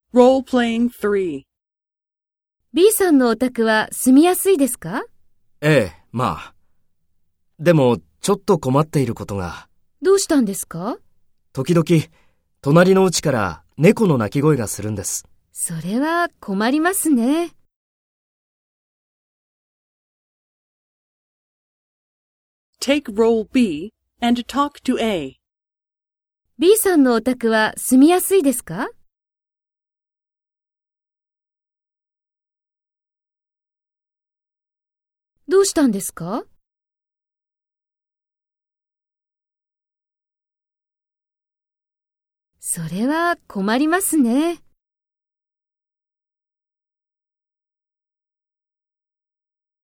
Role-playing 3. B さんのお宅は住みやすいですか？ ええ、まあ。でも、ちょっと困っていることが。 どうしたんですか？ 時々、隣の家から猫の鳴き声がするんです。 それは困りますね。 Take role B and talk to A. B さんのお宅は住みやすいですか？どうしたんですか？それは困りますね。